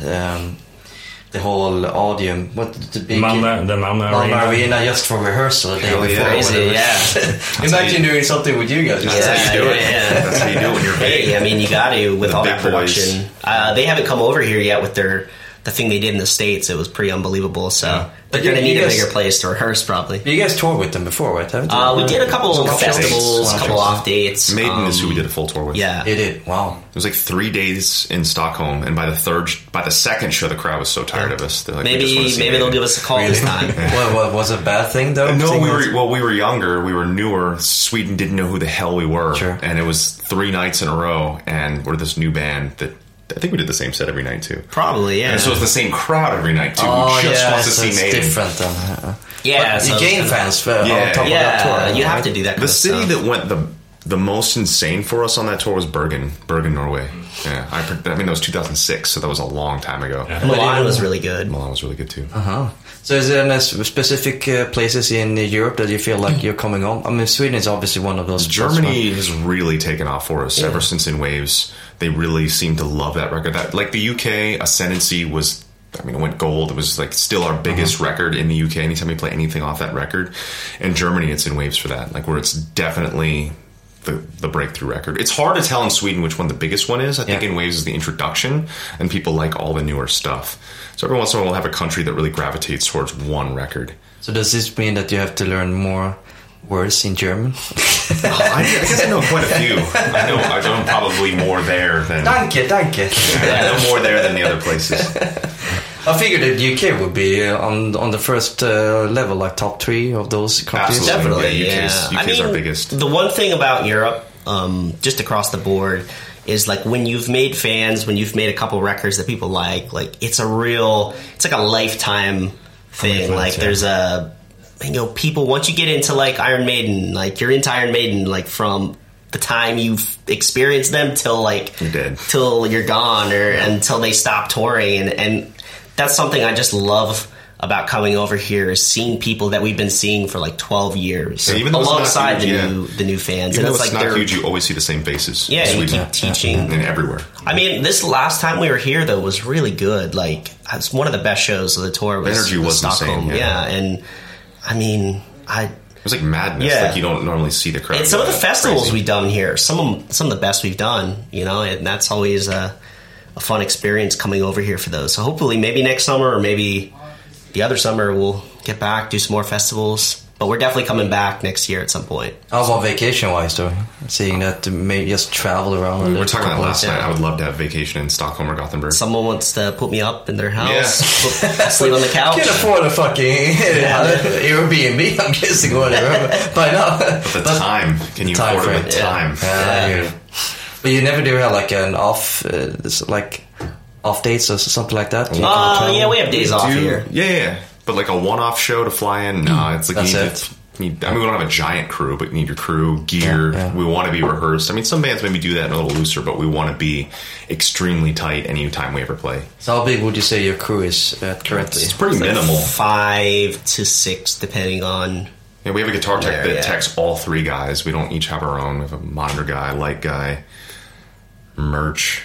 the whole audium. What the big Malmö Arena just for rehearsal the day before. Crazy, yeah. Imagine doing something with you guys. That's how you do it. That's how you do it when you're big. Hey, I mean, you got to with The all big that production. They haven't come over here yet with the thing they did in the States. It was pretty unbelievable. So they're going to need a bigger place to rehearse, probably. You guys toured with them before, right? Haven't you? We did a couple of festivals, a couple off dates. Maiden is who we did a full tour with. Yeah, It did. Wow. It was like 3 days in Stockholm, and by the second show, the crowd was so tired of us. They're like, maybe they'll give us a call this time. What was it a bad thing though? No, we were younger, we were newer. Sweden didn't know who the hell we were, and it was 3 nights in a row, and we're this new band that I think we did the same set every night too. Probably, yeah. And so it's the same crowd every night too. Who just wants to see Maiden. It's different then. Yeah, you gain fans on top of that tour. You have to do that. The city that went the most insane for us on that tour was Bergen, Norway. Yeah, I mean that was 2006, so that was a long time ago. Yeah. Milan was really good. Milan was really good too. So is there any specific places in Europe that you feel like you're coming on? I mean, Sweden is obviously one of those. Germany has really taken off for us ever since In Waves. They really seem to love that record. Like the UK, Ascendancy was, I mean, it went gold. It was like still our biggest record in the UK anytime we play anything off that record. In Germany, it's In Waves for that, like where it's definitely the breakthrough record. It's hard to tell in Sweden which one the biggest one is. I think In Waves is the introduction, and people like all the newer stuff. So every once in a while we'll have a country that really gravitates towards one record. So does this mean that you have to learn more words in German? I guess I know quite a few. I know probably more there than... Danke. I know more there than the other places. I figured that UK would be on the first level, like top 3 of those countries. Absolutely. UK's our biggest. The one thing about Europe, just across the board, is like when you've made fans, when you've made a couple records that people like it's like a lifetime thing. Like there's people, once you get into like Iron Maiden, like you're into Iron Maiden, like from the time you've experienced them till like you're dead, till you're gone, or until they stop touring, and that's something I just love about coming over here, is seeing people that we've been seeing for like 12 years, alongside the new fans. Even and though it's not huge, you always see the same faces. Yeah, and you keep teaching. And everywhere. I mean, this last time we were here, though, was really good. Like, it's one of the best shows of the tour. The energy was Stockholm. insane. Yeah, and I mean, it was like madness. Yeah. Like you don't normally see the crowd. And some of the festivals we've done here, some of the best we've done, and that's always a fun experience coming over here for those. So hopefully maybe next summer, or maybe the other summer, we'll get back, do some more festivals. But we're definitely coming back next year at some point. How about vacation-wise, though? Seeing that maybe just travel around. We were talking about last Yeah. night. I would love to have vacation in Stockholm or Gothenburg. Someone wants to put me up in their house, sleep on the couch. Can't afford a fucking Airbnb, I'm guessing, whatever, by now. But the time, can you Time afford it frame, with yeah. time? Yeah. But you never do have like an off dates or something like that? Yeah, we have days off here. Yeah. But like a one-off show to fly in, no. It's like That's you need it. to. We don't have a giant crew, but you need your crew, gear. Yeah. We want to be rehearsed. I mean, some bands maybe do that a little looser, but we want to be extremely tight anytime we ever play. So how big would you say your crew is currently? It's pretty minimal. 5 to 6, depending on. Yeah, we have a guitar tech There, that techs all 3 guys. We don't each have our own. We have a monitor guy, light guy, merch,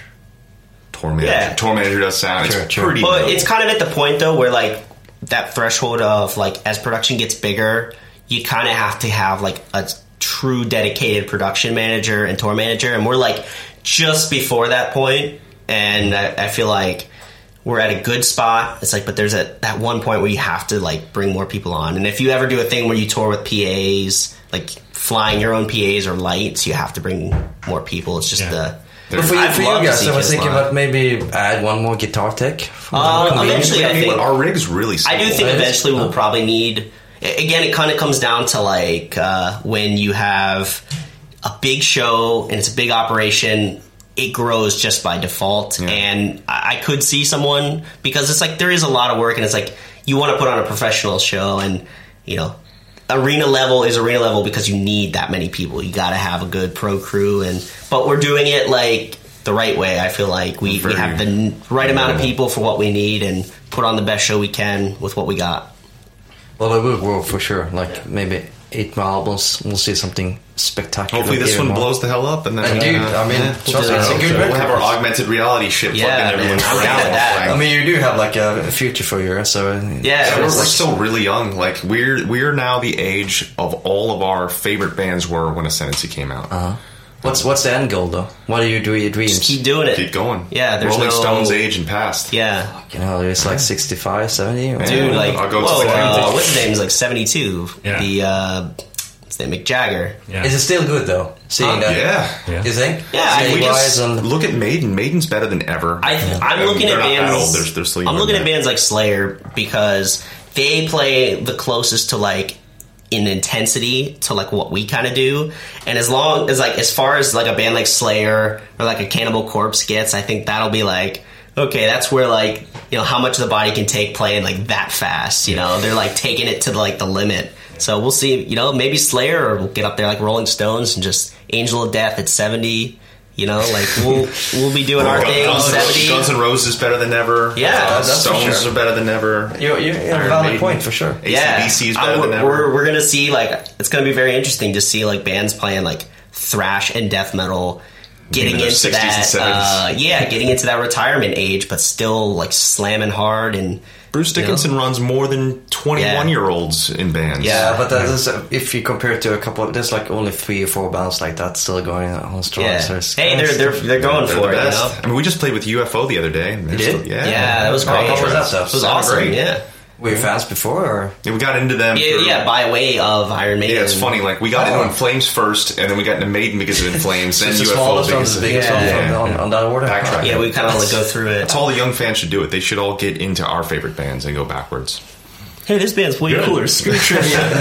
tour manager. Yeah. Tour manager does sound. Sure, it's sure. pretty. But minimal. it's kind of at the point though where like that threshold of like as production gets bigger, you kind of have to have like a true dedicated production manager and tour manager, and we're like just before that point, and I feel like we're at a good spot. It's like, but there's that one point where you have to like bring more people on, and if you ever do a thing where you tour with PAs, like flying your own PAs or lights, you have to bring more people. It's just But for I'd you love to guys, see I was Kiss thinking live. about maybe add one more guitar tech. Eventually, I think our rig's really simple. I do think eventually we'll probably need. Again, it kind of comes down to like when you have a big show and it's a big operation, it grows just by default. Yeah. And I could see someone, because it's like there is a lot of work, and it's like you want to put on a professional show, and you know, arena level is arena level because you need that many people. You got to have a good pro crew, but we're doing it like the right way. I feel like we have the right amount of people for what we need and put on the best show we can with what we got. Well, it will grow for sure. Like maybe 8 more albums, we'll see something spectacular. Hopefully this even one more. blows the hell up, and then Dude, I mean, trust me, it's a good we'll record. have our augmented reality shit Yeah, plugged in man, everyone's I'm brain down with while that. playing. I mean, you do have like a future for you, so Yeah, we're it's like- still really young. Like we're now the age of all of our favorite bands were when Ascendancy came out. What's the end goal though? What do you do with your dreams? Just keep doing it. Keep going. Yeah, there's Rolling no- Stones age and past. Yeah. You know, it's like 65, 70. or- Dude, like, I'll go to whoa, 70. what's his name? Is like 72. Yeah. The, what's his name? Mick Jagger. Yeah. Is it still good though? Seeing that, Yeah. you think? Yeah, I Seeing think wise and Look at Maiden. Maiden's better than ever. I'm looking They're at not that bands. old. They're still I'm young looking than at that. bands like Slayer because they play the closest to like in intensity to like what we kind of do. And as long as like as far as like a band like Slayer or like a Cannibal Corpse gets, I think that'll be like, okay, that's where like, you know, how much the body can take playing like that fast. You know, they're like taking it to like the limit. So we'll see. You know, maybe Slayer or we'll get up there like Rolling Stones and just Angel of Death at 70. You know, like we'll be doing our thing. 70. Guns N' Roses better than ever. Yeah, that's for Stones sure. are better than ever. you have a Iron valid Maiden. point for sure. Yeah, AC/DC is better than ever. we're gonna see like it's gonna be very interesting to see like bands playing like thrash and death metal, getting In their into 60s that and 70s. getting into that retirement age, but still like slamming hard and Bruce Dickinson runs more than 21-year-olds in bands. Yeah, but that is, if you compare it to a couple, there's like only 3 or 4 bands like that still going on strong. yeah. So it's- Hey, they're going They're for the it. You best. know? I mean, we just played with UFO the other day. and they're did? still- Yeah, that was Oh, great. how was that stuff? It was Sounded awesome. great. Yeah. Were you fans before, or? Yeah, we got into them. Yeah, by way of Iron Maiden. Yeah, it's funny. Like we got into In Flames first, and then we got into Maiden because of In Flames. Then It's the UFO smallest one, because the of biggest one on that order. Backtrack. Yeah, we kind of like go through it. That's all the young fans should do. It. They should all get into our favorite bands and go backwards. Hey, this band's way cooler. Screw Trivium.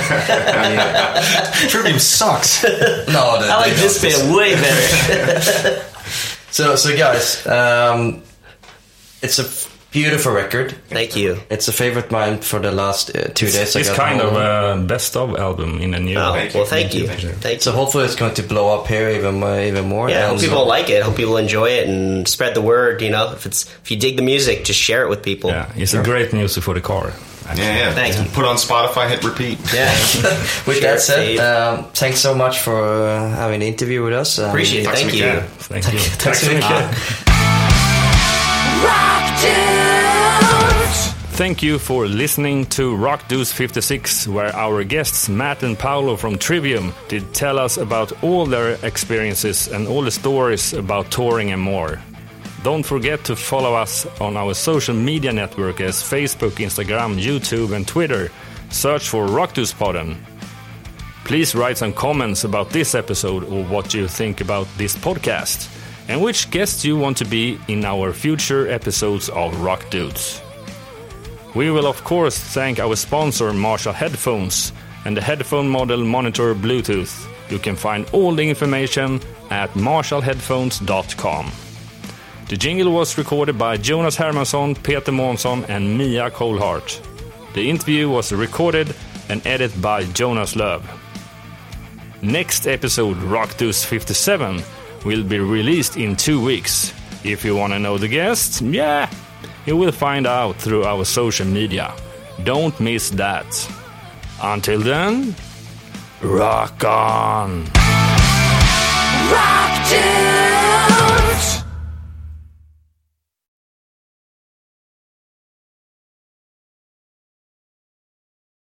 Trivium sucks. No, I like this band way better. So guys, it's a beautiful record. Thank you. It's a favorite of mine for the last 2 days. I It's got kind home. of a best of album in a new. Oh, Thank you. well, thank you. Thank you. Thank you. So hopefully it's going to blow up here even more. Yeah, I hope And people like it. I hope people enjoy it and spread the word. You know, if you dig the music, just share it with people. Yeah, it's a great music for the car. Yeah. Thank you. Put on Spotify, hit repeat. Yeah. With Share that said, it, thanks so much for having the interview with us. appreciate it. Tack så Thank mycket. you. Thank you. Tack så mycket. Thank you for listening to Rock Deuce 56, where our guests Matt and Paolo from Trivium did tell us about all their experiences and all the stories about touring and more. Don't forget to follow us on our social media network as Facebook, Instagram, YouTube and Twitter. Search for Rock Deuce Podden. Please write some comments about this episode or what you think about this podcast, and which guests you want to be in our future episodes of Rock Dudes. We will of course thank our sponsor Marshall Headphones and the headphone model Monitor Bluetooth. You can find all the information at marshallheadphones.com. The jingle was recorded by Jonas Hermansson, Peter Månsson and Mia Colhart. The interview was recorded and edited by Jonas Löv. Next episode, Rock Dudes 57, will be released in 2 weeks. If you want to know the guests, you will find out through our social media. Don't miss that. Until then, rock on! Rock Dudes!